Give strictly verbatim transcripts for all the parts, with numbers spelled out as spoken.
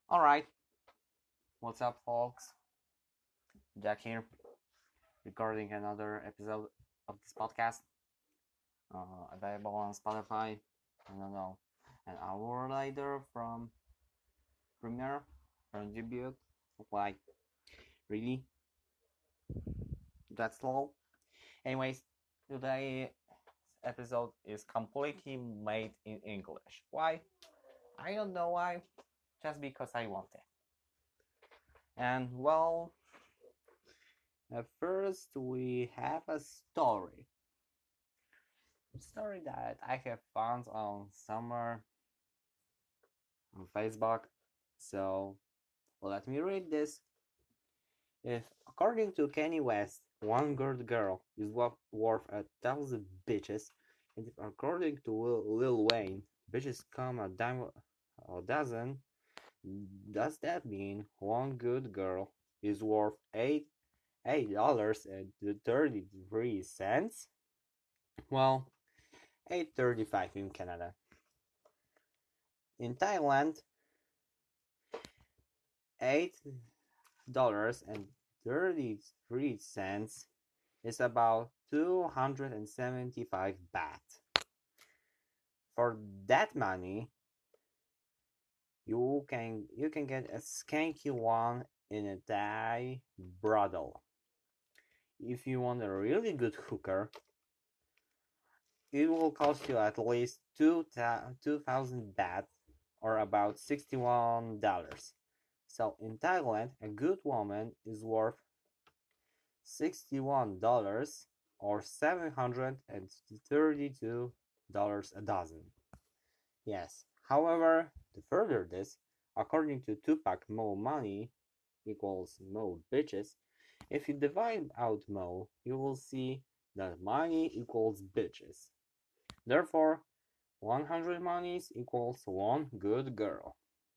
Alright, what's up, folks? Jack here, recording another episode of this podcast. Uh, available on Spotify, I don't know, an hour later from Premiere, from debut. Like, really? That's slow? Anyways, today's episode is completely made in English. Why? I don't know why, just because I want it. And well, at first we have a story. Story that I have found on somewhere on Facebook. So let me read this. If according to Kanye West, one good girl is worth a thousand bitches, and if according to Lil Wayne, bitches come a dime a dozen, does that mean one good girl is worth eight eight dollars and thirty three cents? Well, eight thirty five in Canada. In Thailand, eight dollars and thirty three cents is about two hundred and seventy five baht. For that money, you can you can get a skanky one in a Thai brothel. If you want a really good hooker, it will cost you at least two thousand baht, or about sixty one dollars. So in Thailand, a good woman is worth sixty one dollars or seven hundred and thirty two dollars a dozen. Yes, however, to further this, according to Tupac, more money equals more bitches. If you divide out more, you will see that money equals bitches. Therefore, one hundred monies equals one good girl.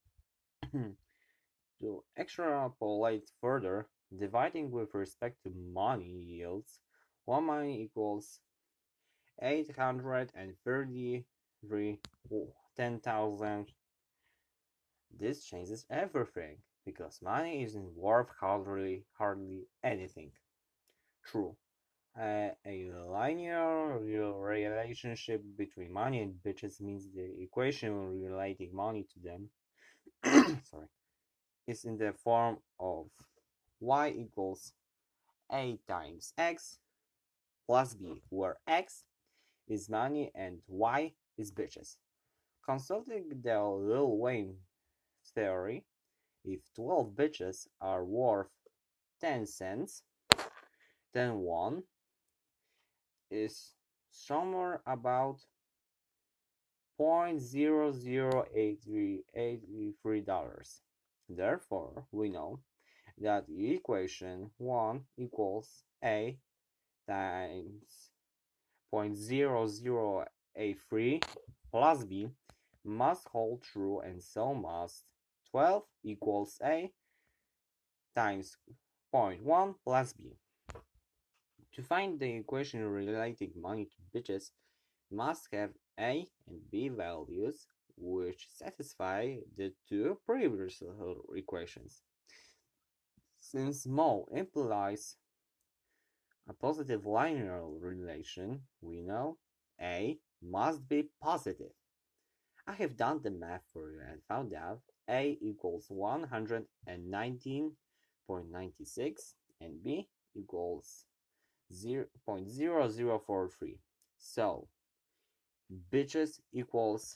To extrapolate further, dividing with respect to money yields, one money equals eight hundred thirty-three ten thousand. This changes everything, because money isn't worth hardly hardly anything. True, uh, a linear relationship between money and bitches means the equation relating money to them sorry is in the form of y equals a times x plus b, where x is money and y is bitches. Consulting the Lil Wayne theory, if twelve bitches are worth ten cents, then one is somewhere about zero point zero zero eight three dollars. Therefore, we know that the equation one equals a times zero point zero zero eight three plus b must hold true, and so must twelve equals a times zero point one plus b. To find the equation relating money to bitches, must have a and b values which satisfy the two previous equations. Since mo implies a positive linear relation, we know a must be positive. I have done the math for you and found out a equals one hundred nineteen point nine six and b equals zero point zero zero four three. So bitches equals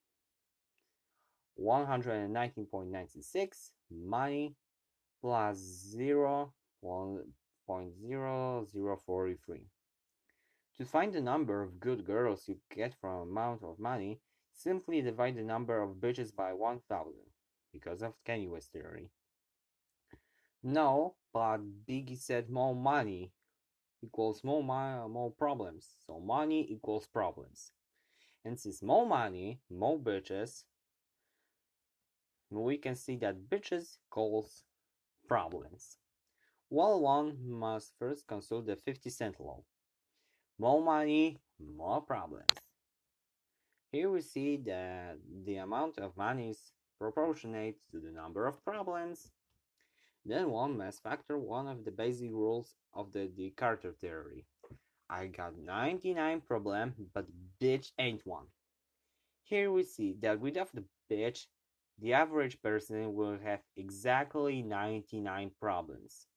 one hundred nineteen point nine six, money plus zero point zero zero four three. To find the number of good girls you get from amount of money, simply divide the number of bitches by one thousand, because of Kanye West theory. No, but Biggie said more money equals more, mo more problems, so money equals problems. And since more money, more bitches, we can see that bitches equals problems. Well, one must first consult the fifty cent law. More money, more problems. Here we see that the amount of money is proportionate to the number of problems. Then one must factor one of the basic rules of the Descartes theory. I got ninety-nine problems, but bitch ain't one. Here we see that without the bitch, the average person will have exactly ninety-nine problems.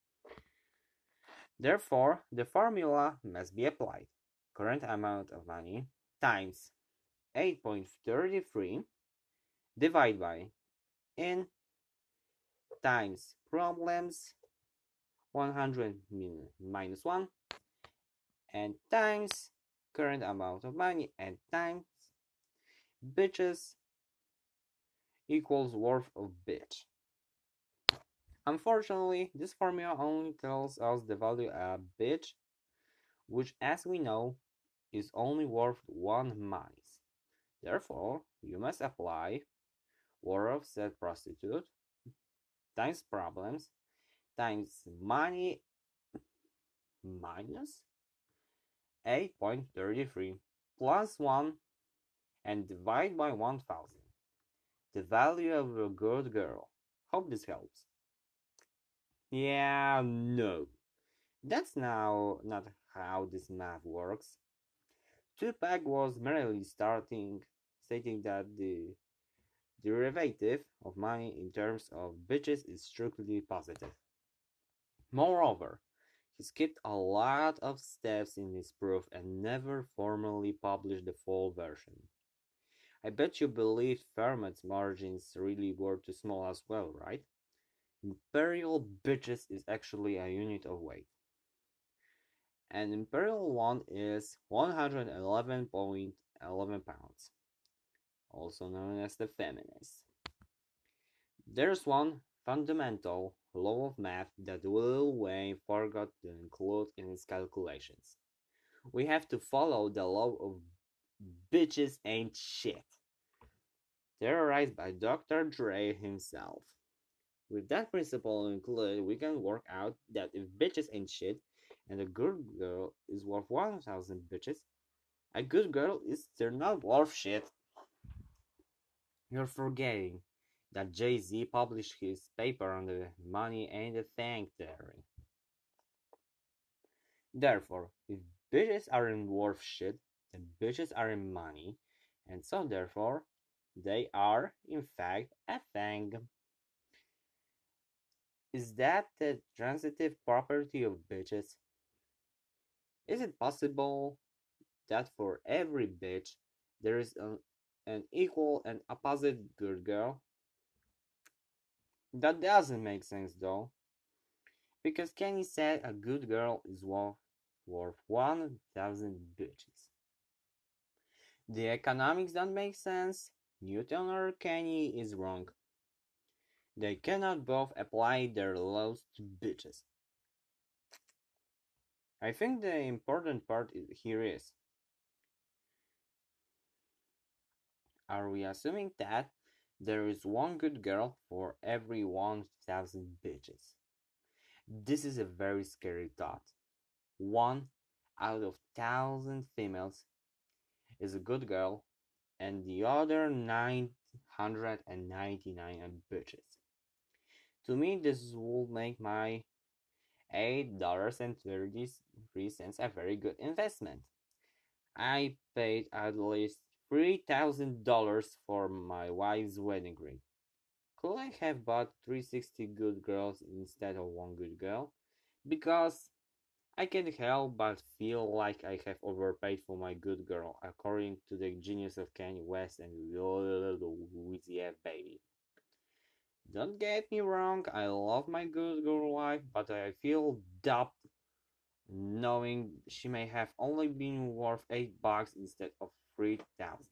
Therefore, the formula must be applied. Current amount of money times eight point three three divided by n times problems one hundred minus one and times current amount of money and times bitches equals worth of bitch. Unfortunately, this formula only tells us the value of bitch, which as we know is only worth one money. Therefore, you must apply worth of said prostitute times problems times money minus eight point three three plus one and divide by one thousand. The value of a good girl. Hope this helps. Yeah, no. That's now not how this math works. Tupac was merely starting stating that the derivative of money in terms of bitches is strictly positive. Moreover, he skipped a lot of steps in his proof and never formally published the full version. I bet you believe Fermat's margins really were too small as well, right? Imperial bitches is actually a unit of weight. An imperial one is one hundred eleven point one one pounds, also known as the feminist. There's one fundamental law of math that Lil Wayne forgot to include in his calculations. We have to follow the law of bitches ain't shit, theorized by Doctor Dre himself. With that principle included, we can work out that if bitches ain't shit and a good girl is worth one thousand bitches, a good girl is still not worth shit. You're forgetting that Jay-Z published his paper on the money ain't a thing theory. Therefore, if bitches aren't worth shit, then bitches aren't money, and so therefore, they are, in fact, a thing. Is that the transitive property of bitches? Is it possible that for every bitch there is an, an equal and opposite good girl? That doesn't make sense though, because Kenny said a good girl is worth, worth one thousand bitches. The economics don't make sense. Newton or Kenny is wrong. They cannot both apply their laws to bitches. I think the important part here is, are we assuming that there is one good girl for every one thousand bitches? This is a very scary thought. One out of thousand females is a good girl and the other nine hundred ninety-nine are bitches. To me, this would make my eight dollars and thirty-three cents a very good investment. I paid at least three thousand dollars for my wife's wedding ring. Could I have bought three hundred sixty good girls instead of one good girl? Because I can't help but feel like I have overpaid for my good girl, according to the genius of Kanye West and Weezy F baby. Don't get me wrong, I love my good girl wife, but I feel dubbed knowing she may have only been worth eight bucks instead of three thousand.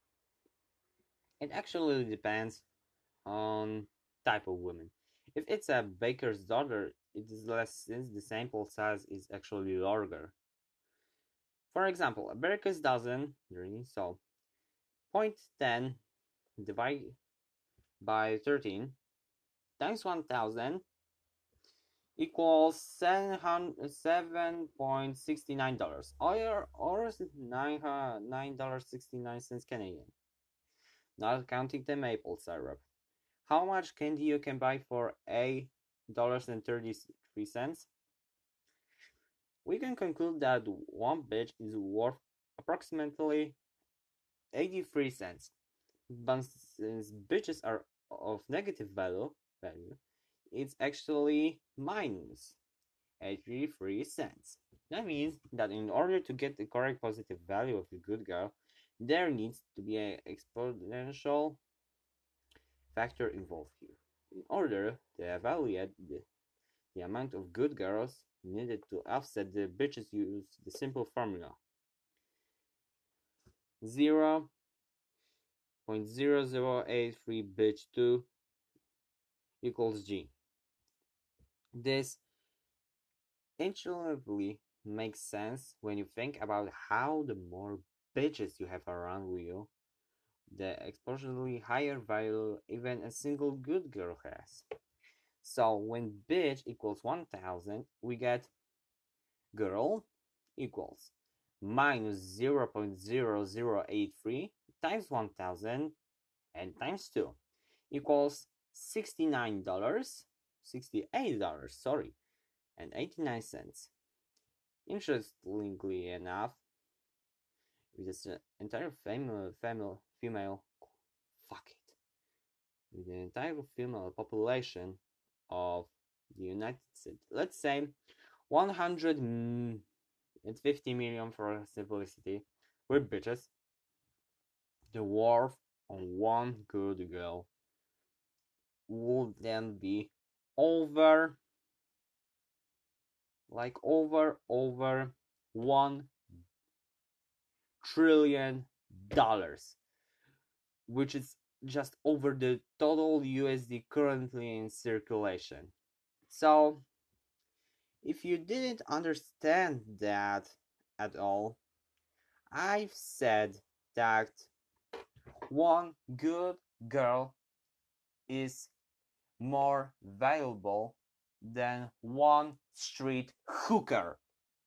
It actually depends on type of woman. If it's a baker's daughter, it is less since the sample size is actually larger. For example, a baker's dozen, so zero point one zero divided by thirteen times one thousand equals seven point six nine dollars, or, or is it nine dollars and sixty-nine cents Canadian? not counting the maple syrup. How much candy you can buy for eight dollars and thirty-three cents? We can conclude that one bitch is worth approximately eighty-three cents. But since bitches are of negative value, value, it's actually minus eighty-three cents. That means that in order to get the correct positive value of a good girl, there needs to be an exponential factor involved here. In order to evaluate the, the amount of good girls needed to offset the bitches, use the simple formula. zero point zero zero eight three bitch two equals G. This intuitively makes sense when you think about how the more bitches you have around you, the exponentially higher value even a single good girl has. So when bitch equals one thousand, we get girl equals minus zero point zero zero eight three times one thousand and times two equals sixty-nine dollars, sixty-eight dollars, sorry, and eighty-nine cents. Interestingly enough, with this entire female, female, female, fuck it, with the entire female population of the United States, let's say one hundred fifty million for simplicity, with bitches, the worth on one good girl would then be over, like over, over one trillion dollars, which is just over the total U S D currently in circulation. So, if you didn't understand that at all, I've said that one good girl is more valuable than one street hooker.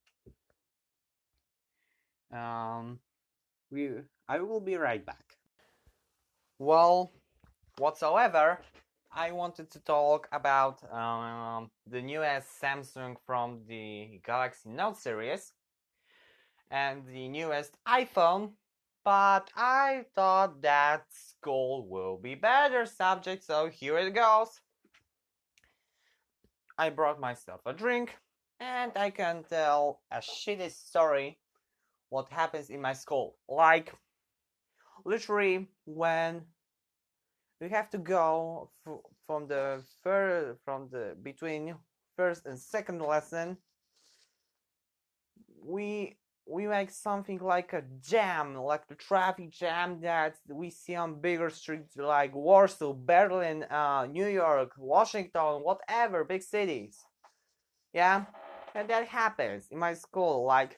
Um, we, I will be right back. Well, whatsoever, I wanted to talk about um, the newest Samsung from the Galaxy Note series and the newest iPhone, but I thought that school will be better subject, so here it goes. I brought myself a drink, and I can tell a shitty story what happens in my school. Like, literally, when we have to go f- from the fir- from the between first and second lesson, we we make something like a jam, like the traffic jam that we see on bigger streets like Warsaw, Berlin, uh, New York, Washington, whatever, big cities. Yeah, and that happens in my school. Like,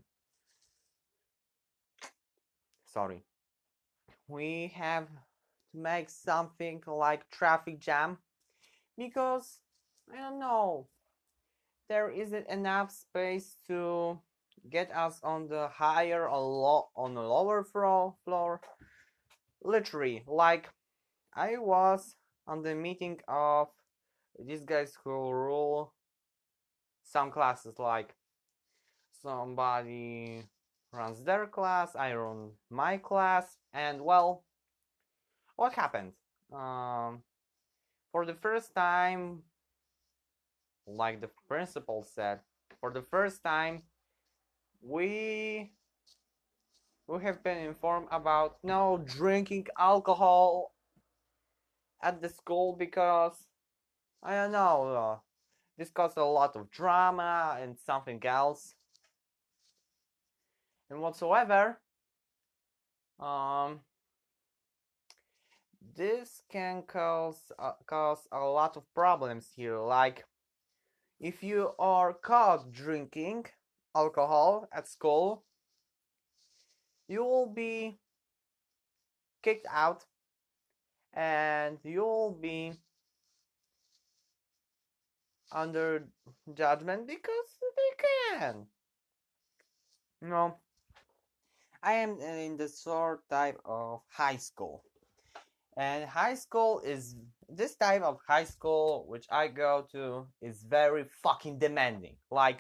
sorry, we have to make something like traffic jam because I don't know, there isn't enough space to get us on the higher or lo- on the lower floor floor. Literally, like, I was on the meeting of these guys who rule some classes, like somebody runs their class, I run my class, and well, what happened? Um, for the first time, like the principal said, for the first time, we we have been informed about no drinking alcohol at the school because I don't know, uh, this caused a lot of drama and something else and whatsoever. Um, this can cause uh, cause a lot of problems here. Like, if you are caught drinking alcohol at school, you will be kicked out and you'll be under judgment because they can. You know, I am in the sort type of high school. And high school is this type of high school which I go to is very fucking demanding. Like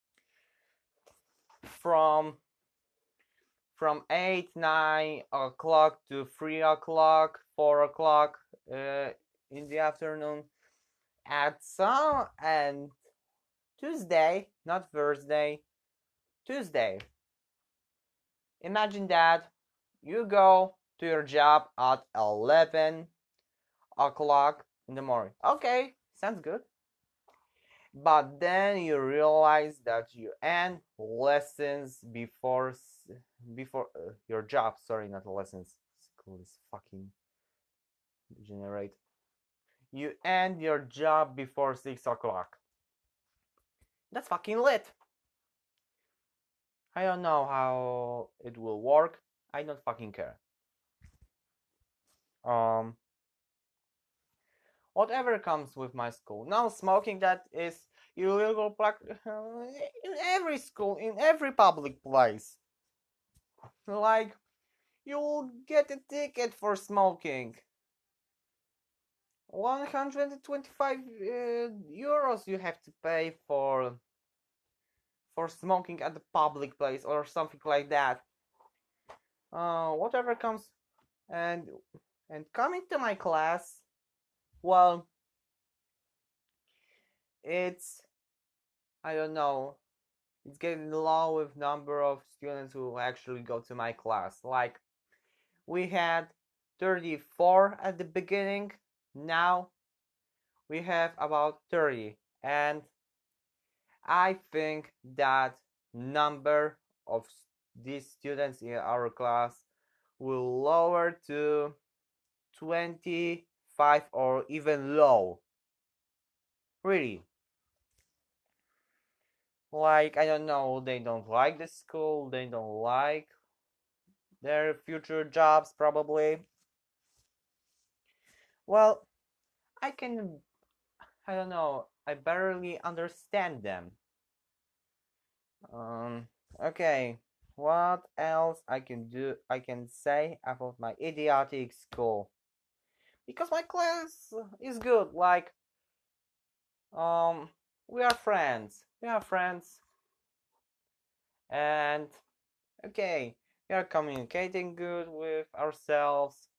from from eight, nine o'clock to three o'clock, four o'clock uh, in the afternoon. At some and Tuesday, not Thursday, Tuesday. Imagine that you go to your job at eleven o'clock in the morning. Okay, sounds good. But then you realize that you end lessons before before uh, your job. Sorry, not lessons. School is fucking generate. You end your job before six o'clock. That's fucking lit. I don't know how it will work. I don't fucking care. Um, whatever comes with my school. Now smoking, that is illegal in every school, in every public place. Like, you'll get a ticket for smoking. one hundred twenty-five uh, euros you have to pay for for smoking at the public place or something like that. Uh, whatever comes and and coming to my class, well, it's I don't know. It's getting low with number of students who actually go to my class. Like, we had thirty-four at the beginning. Now we have about thirty, and I think that number of these students in our class will lower to twenty-five or even low. Really. Like, I don't know, they don't like the school, they don't like their future jobs, probably. Well, I can, I don't know, I barely understand them. Um, okay, what else I can do, I can say about my idiotic school? Because my class is good, like, um, we are friends, we are friends, and, okay, we are communicating good with ourselves.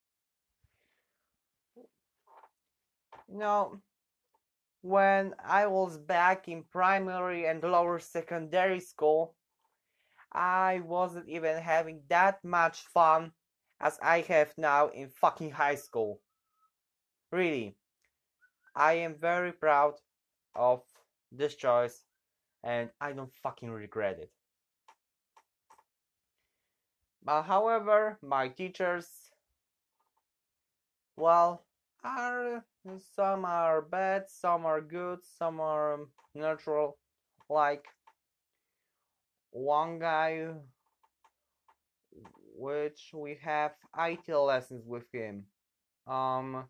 You know, when I was back in primary and lower secondary school, I wasn't even having that much fun as I have now in fucking high school. Really, I am very proud of this choice and I don't fucking regret it. But however, my teachers, well, are some are bad, some are good, some are neutral. Like one guy which we have I T lessons with him. Um,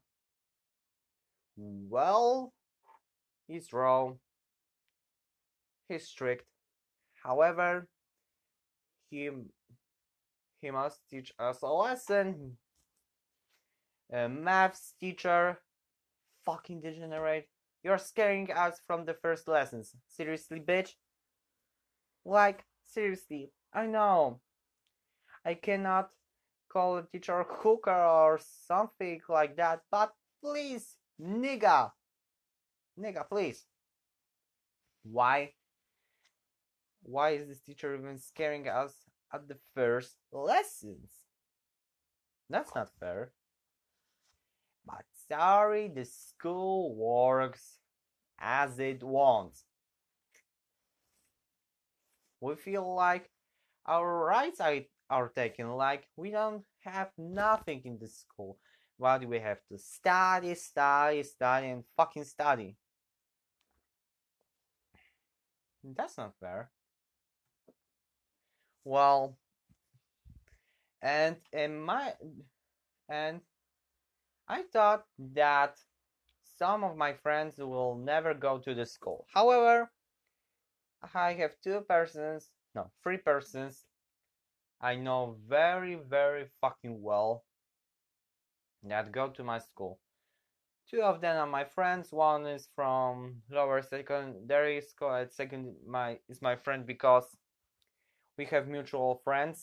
well, he's raw, he's strict. However, he he must teach us a lesson. A maths teacher, fucking degenerate. You're scaring us from the first lessons. Seriously, bitch? Like, seriously, I know. I cannot call a teacher hooker or something like that, but please, nigga, nigga, please. Why? Why is this teacher even scaring us at the first lessons? That's not fair. But sorry, the school works as it wants. We feel like our rights are, are taken, like we don't have nothing in the school, but we have to study, study, study, and fucking study. That's not fair. Well, and in my and I thought that some of my friends will never go to the school. However, I have two persons, no, three persons I know very, very fucking well that go to my school. Two of them are my friends. One is from lower secondary school. And second, my is my friend because we have mutual friends.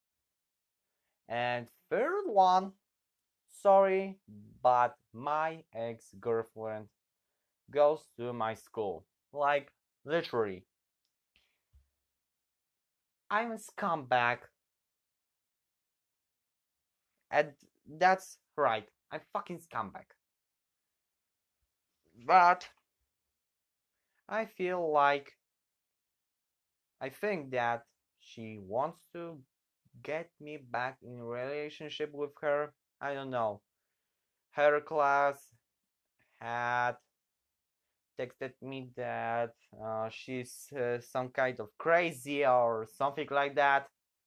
And third one, sorry, but my ex-girlfriend goes to my school. Like, literally. I'm a scumbag. And that's right. I'm fucking scumbag. But I feel like I think that she wants to get me back in a relationship with her. I don't know. Her class had texted me that uh, she's uh, some kind of crazy or something like that.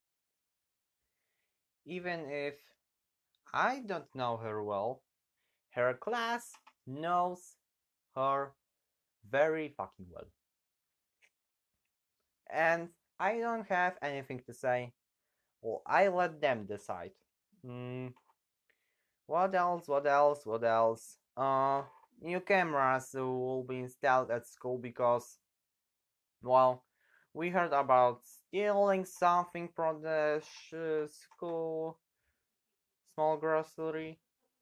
Even if I don't know her well, her class knows her very fucking well. And I don't have anything to say. Well, I let them decide. Mm, what else? What else? What else? Uh, new cameras will be installed at school because, well, we heard about stealing something from the sh- school small grocery.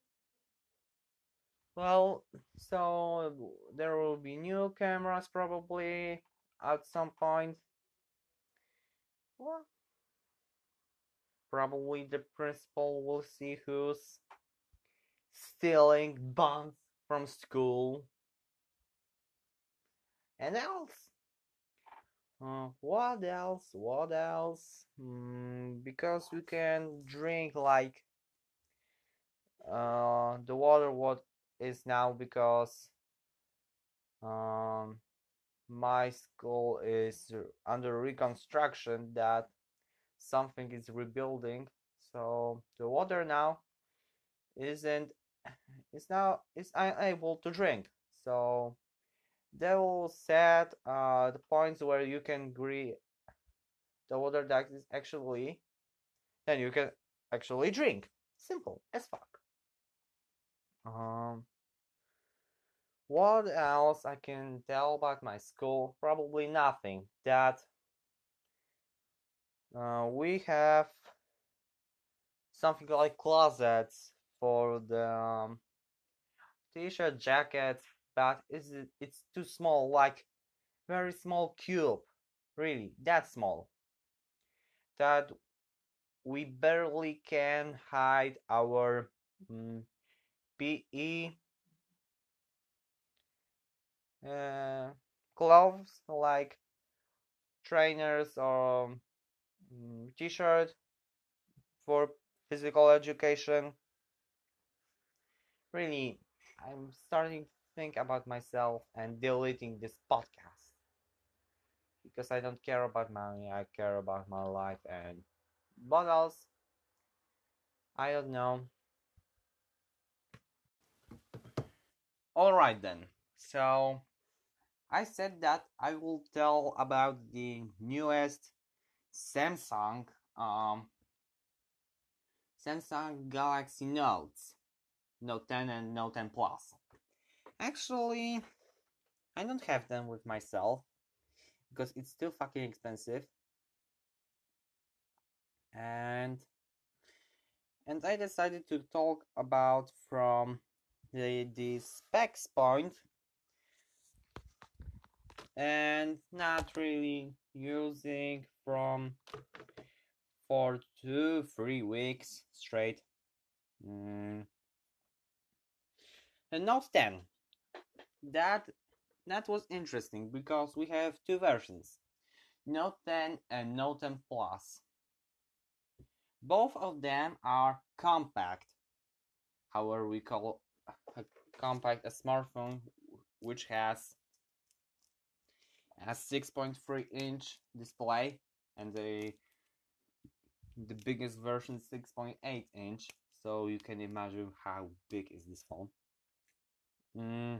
Well, so there will be new cameras probably at some point. Well, probably the principal will see who's stealing bombs from school. And else? Uh, what else? What else? Mm, because we can drink like uh, the water what is now because um, my school is under reconstruction that something is rebuilding, so the water now isn't is now is unable to drink. So they will set uh, the points where you can agree the water that is actually then you can actually drink. Simple as fuck. Um, what else I can tell about my school? Probably nothing. That uh, we have something like closets for the um, t-shirt, jackets, but is it, it's too small, like very small cube, really that small, that we barely can hide our mm, P E uh, clothes like trainers or mm, t-shirt for physical education. Really, I'm starting to think about myself and deleting this podcast because I don't care about money, I care about my life and what else? I don't know. Alright then. So I said that I will tell about the newest Samsung um Samsung Galaxy Notes, Note ten and Note ten Plus. Actually, I don't have them with myself because it's still fucking expensive. And and I decided to talk about from the, the specs point and not really using from for two three weeks straight. Mm. And Note ten, that that was interesting because we have two versions, Note ten and Note ten Plus. Both of them are compact. However, we call a compact a smartphone which has a six point three inch display and the the biggest version six point eight inch. So you can imagine how big is this phone. Mm.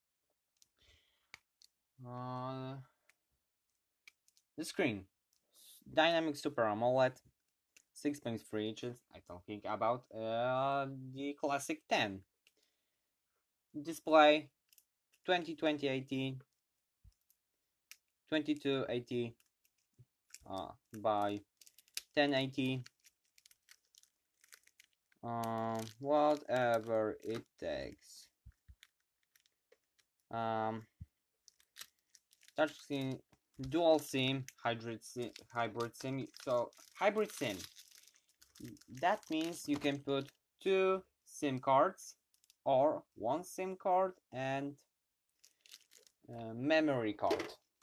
Uh, the screen, Dynamic Super AMOLED, six point three inches. I'm talking about uh, the classic ten. Display twenty twenty eighty, twenty-two eighty uh, by ten eighty. Um, whatever it takes. Um, touch SIM, dual SIM, hybrid SIM, hybrid SIM. So hybrid SIM. That means you can put two SIM cards or one SIM card and uh, memory card.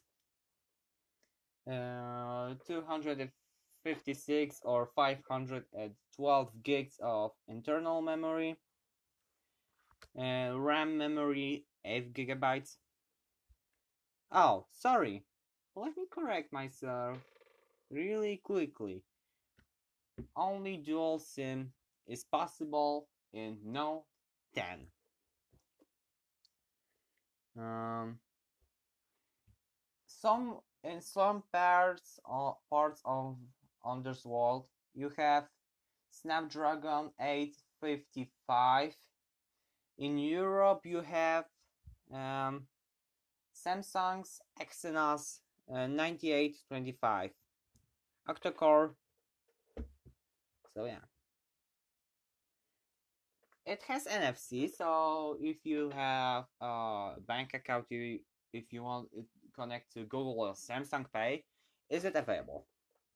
Uh, two hundred fifty-six or five hundred twelve gigs of internal memory. Uh, RAM memory eight gigabytes. Oh, sorry. Let me correct myself really quickly. Only dual SIM is possible in Note ten. Um, some in some parts of parts of Underworld you have Snapdragon eight fifty-five. In Europe you have um, Samsung's Exynos uh, ninety-eight twenty-five octa-core. So yeah, it has N F C. So if you have a bank account, you if you want it connect to Google or Samsung Pay, is it available?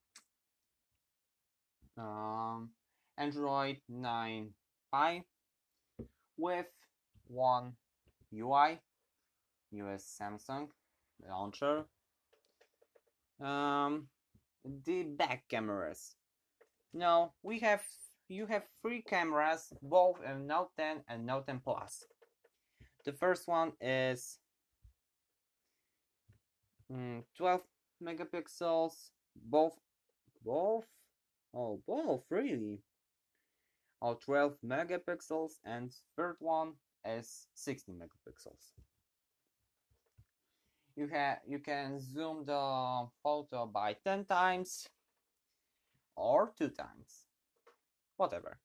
Um, Android nine Pie with one U I, U S Samsung launcher. Um, the back cameras. No, we have you have three cameras, both in Note ten and Note ten Plus. The first one is mm, twelve megapixels, both, both, oh, both really. Oh, twelve megapixels, and third one is sixteen megapixels. You have you can zoom the photo by ten times or two times, whatever.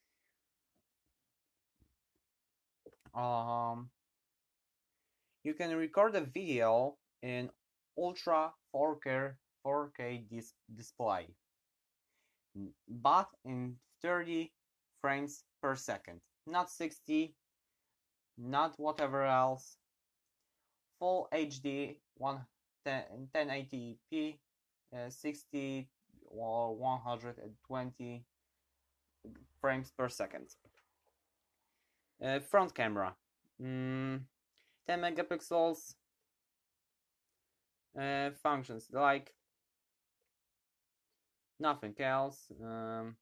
Um, you can record a video in ultra four K four K dis display, but in thirty frames per second, not sixty, not whatever else. Full H D ten eighty p, uh, sixty or one hundred twenty frames per second. Uh, front camera, mm, ten megapixels. Uh, functions like nothing else. Um,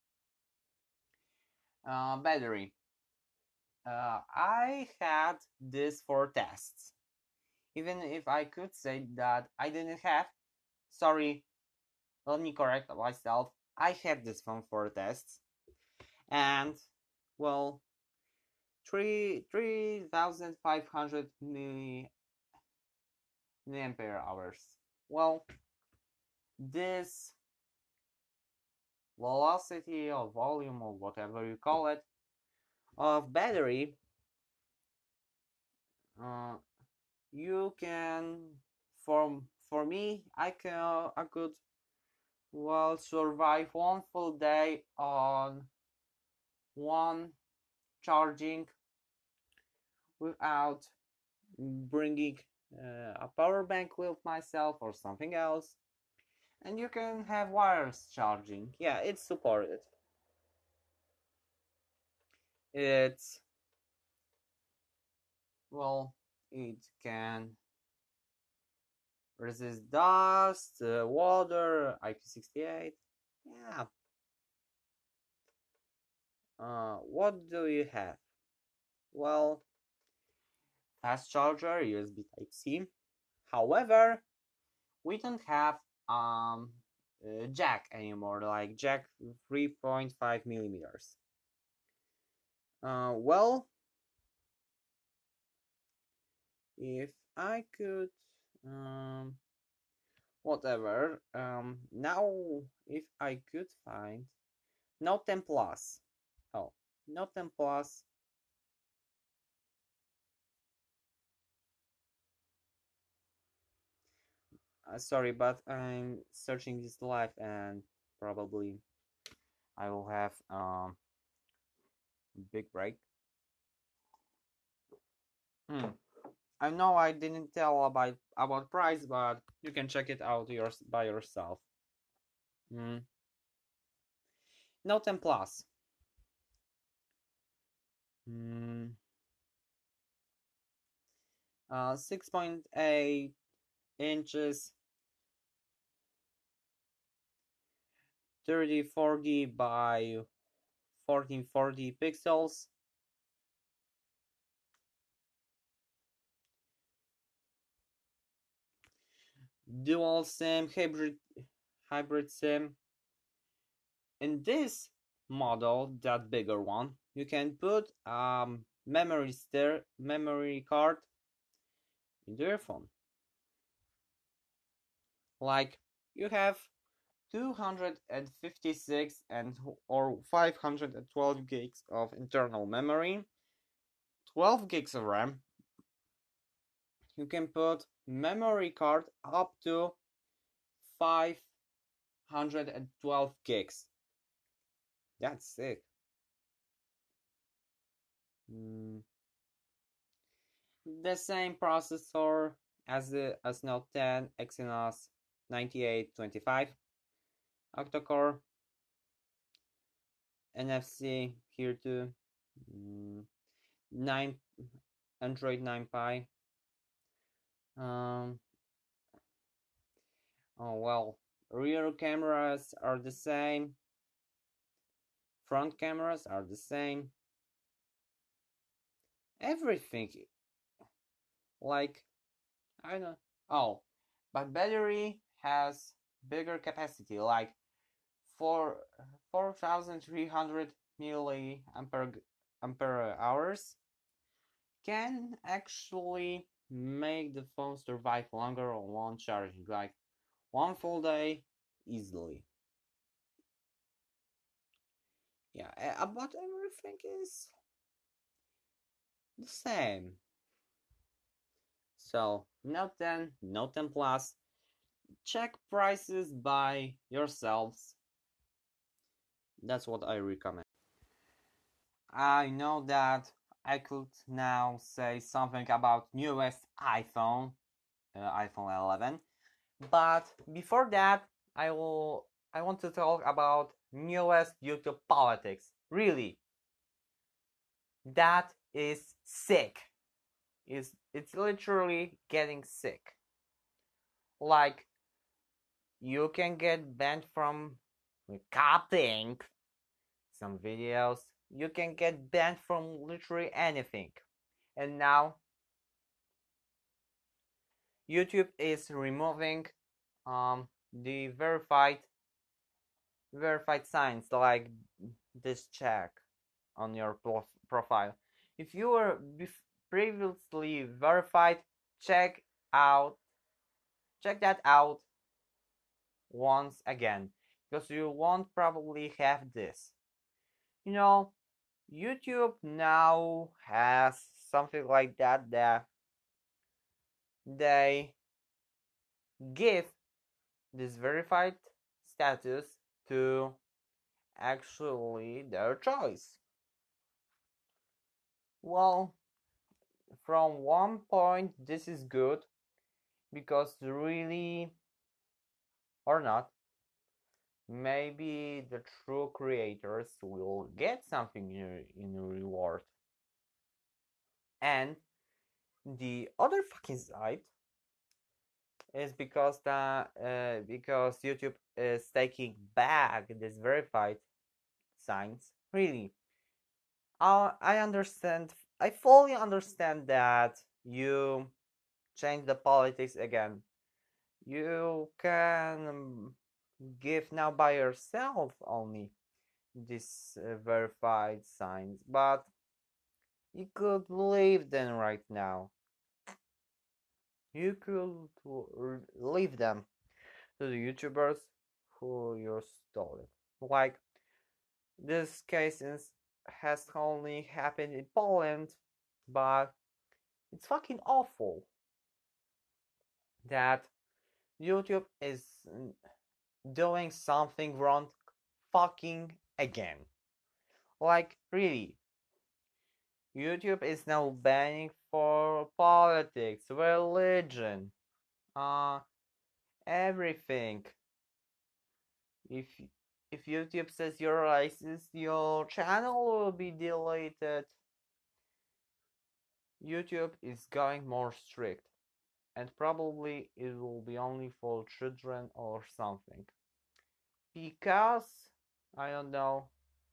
uh, battery. Uh, I had this for tests. Even if I could say that I didn't have, sorry, let me correct myself. I have this phone for tests, and well, three three thousand five hundred milliampere hours. Well, this velocity or volume or whatever you call it of battery, uh, you can for for me I can I could well survive one full day on one charging without bringing uh, a power bank with myself or something else. And you can have wireless charging. Yeah, it's supported. It's well, it can resist dust, uh, water, I P six eight. Yeah. Uh, what do you have? Well, fast charger, U S B Type C. However, we don't have um uh, jack anymore, like jack three point five millimeters. Uh, well, if I could um, whatever. Um, now if I could find Note ten Plus. Oh, Note ten Plus. Uh, sorry, but I'm searching this live and probably I will have um big break. Hmm. I know I didn't tell about about price, but you can check it out yours by yourself. Hmm. Note ten Plus. Hmm. Uh, six point eight inches, thirty forty by fourteen forty pixels. Dual SIM, hybrid hybrid SIM. In this model, that bigger one, you can put um memory stir memory card into your phone. Like you have two hundred fifty-six and or five hundred twelve gigs of internal memory, twelve gigs of RAM. You can put memory card up to five hundred twelve gigs. That's sick. Mm. The same processor as the as Note ten, Exynos ninety-eight twenty-five, octa-core, N F C here too, mm, nine Android nine Pie. Um, oh well, rear cameras are the same, front cameras are the same. Everything, like I don't know. Oh, but battery has bigger capacity, like four four thousand three hundred milliampere ampere hours, can actually make the phone survive longer on one charging, like one full day easily. Yeah, about everything is the same. So Note ten, Note ten Plus, check prices by yourselves. That's what I recommend. I know that I could now say something about newest iPhone, uh, iPhone eleven, but before that, I will I want to talk about newest YouTube politics. Really, that is sick. It's it's literally getting sick. Like you can get banned from cutting some videos. You can get banned from literally anything. And now YouTube is removing um, the verified verified signs like this check on your prof profile. If you were previously verified, check out check that out once again because you won't probably have this. You know, YouTube now has something like that that they give this verified status to actually their choice. Well, from one point, this is good because really or not, maybe the true creators will get something in, in reward. And the other fucking side is because the uh, because YouTube is taking back this verified signs. Really, I I understand. I fully understand that you change the politics again. You can give now by yourself only these uh, verified signs, but you could leave them right now. You could leave them to the YouTubers who you stole it. Like this cases has only happened in Poland, but it's fucking awful that YouTube is doing something wrong fucking again. Like really, YouTube is now banning for politics, religion, uh everything. If if YouTube says you're racist, your channel will be deleted. YouTube is going more strict, and probably it will be only for children or something. Because I don't know,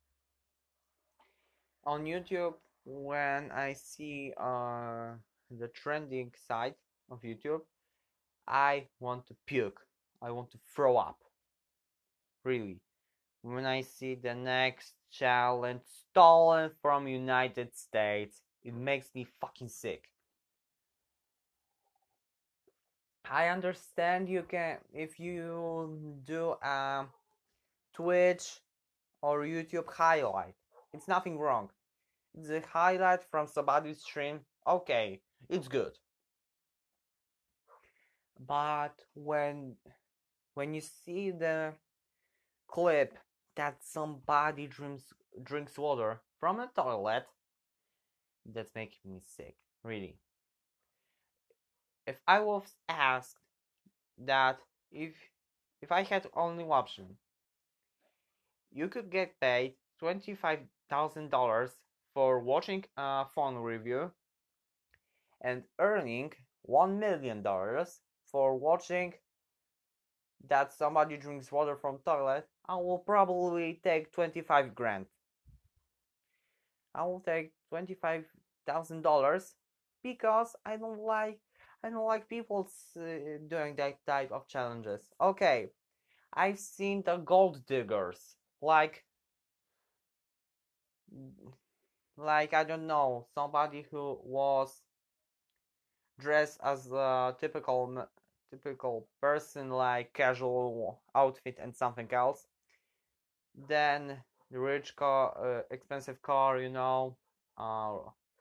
on YouTube when I see uh the trending side of YouTube, I want to puke. I want to throw up. Really. When I see the next challenge stolen from United States, it makes me fucking sick. I understand you can, if you do a Twitch or YouTube highlight, it's nothing wrong. It's a highlight from somebody's stream, okay, it's good. But when when you see the clip that somebody drinks drinks water from a toilet, that's making me sick, really. If I was asked that if if I had only option, you could get paid twenty-five thousand dollars for watching a phone review and earning one million dollars for watching that somebody drinks water from toilet, I will probably take twenty-five grand. I will take twenty-five thousand dollars because I don't like I don't like people uh, doing that type of challenges. Okay, I've seen the gold diggers, like like I don't know, somebody who was dressed as a typical typical person, like casual outfit and something else. Then the rich car, uh, expensive car, you know. Uh,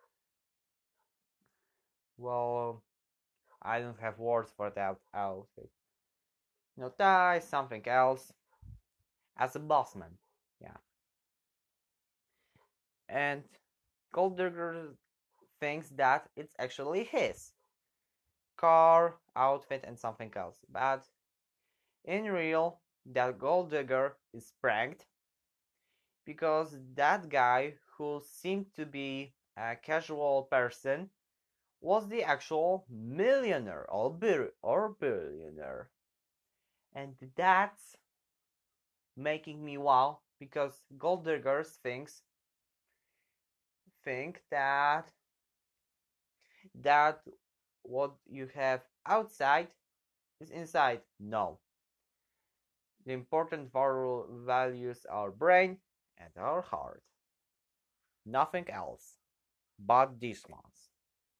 well, I don't have words for that outfit. No tie, something else. As a bossman, yeah. And Gold Digger thinks that it's actually his car, outfit, and something else. But in real, that Gold Digger is pranked because that guy who seemed to be a casual person was the actual millionaire or, bir- or billionaire. And that's making me wow because gold diggers thinks think that that what you have outside is inside. No. The important values are brain and our heart. Nothing else but these ones.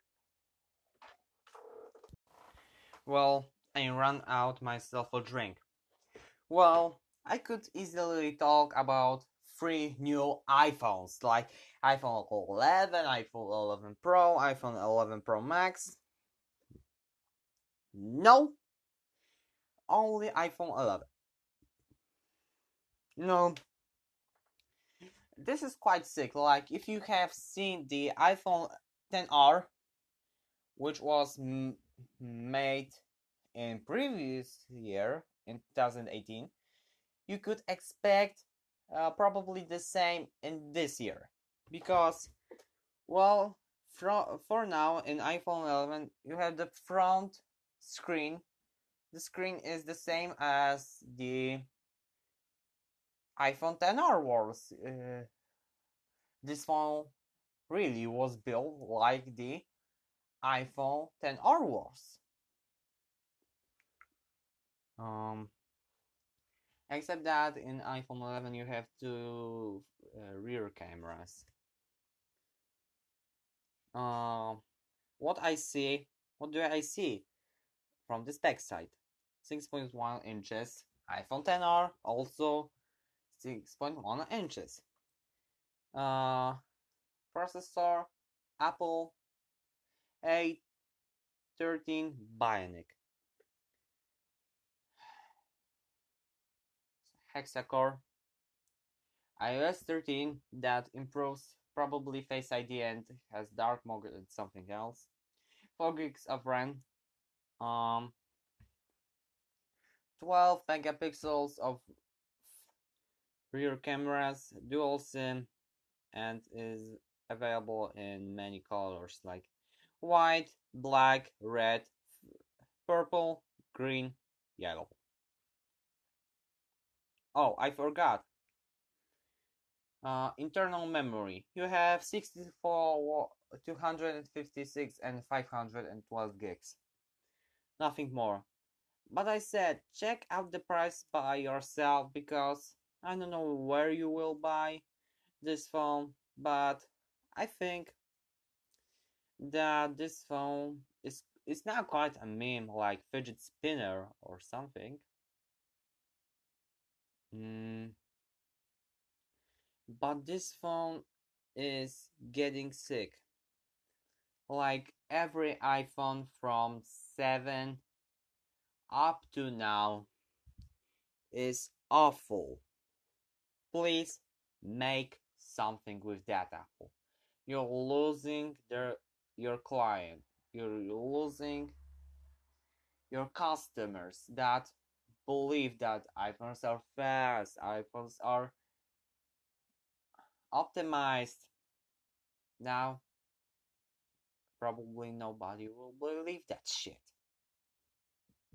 Well, I ran out myself a drink. Well, I could easily talk about three new iPhones like iPhone eleven, iPhone eleven Pro, iPhone eleven Pro Max. No, only iPhone eleven. You know, this is quite sick. Like, if you have seen the iPhone ten R, which was m- made in previous year in twenty eighteen, you could expect uh, probably the same in this year because, well, for, for now in iPhone eleven you have the front screen. The screen is the same as the iPhone ten R was. Uh, this phone really was built like the iPhone ten R was. Um, except that in iPhone eleven you have two uh, rear cameras. Um, what I see, what do I see from the spec side? six point one inches. iPhone X R also six point one inches. Uh, processor Apple A thirteen Bionic. Hexacore iOS thirteen that improves probably Face I D and has dark mode and something else. four gigs of RAM. Um, twelve megapixels of rear cameras, dual SIM, and is available in many colors like white, black, red, purple, green, yellow. Oh, I forgot. Uh, internal memory. You have sixty-four, two hundred fifty-six, and five hundred twelve gigs. Nothing more. But I said, check out the price by yourself because I don't know where you will buy this phone, but I think that this phone is is now quite a meme, like fidget spinner or something. Mm, but this phone is getting sick. Like every iPhone from seven up to now is awful. Please make something with that Apple. You're losing their your client. You're losing your customers that believe that iPhones are fast, iPhones are optimized. Now, probably nobody will believe that shit.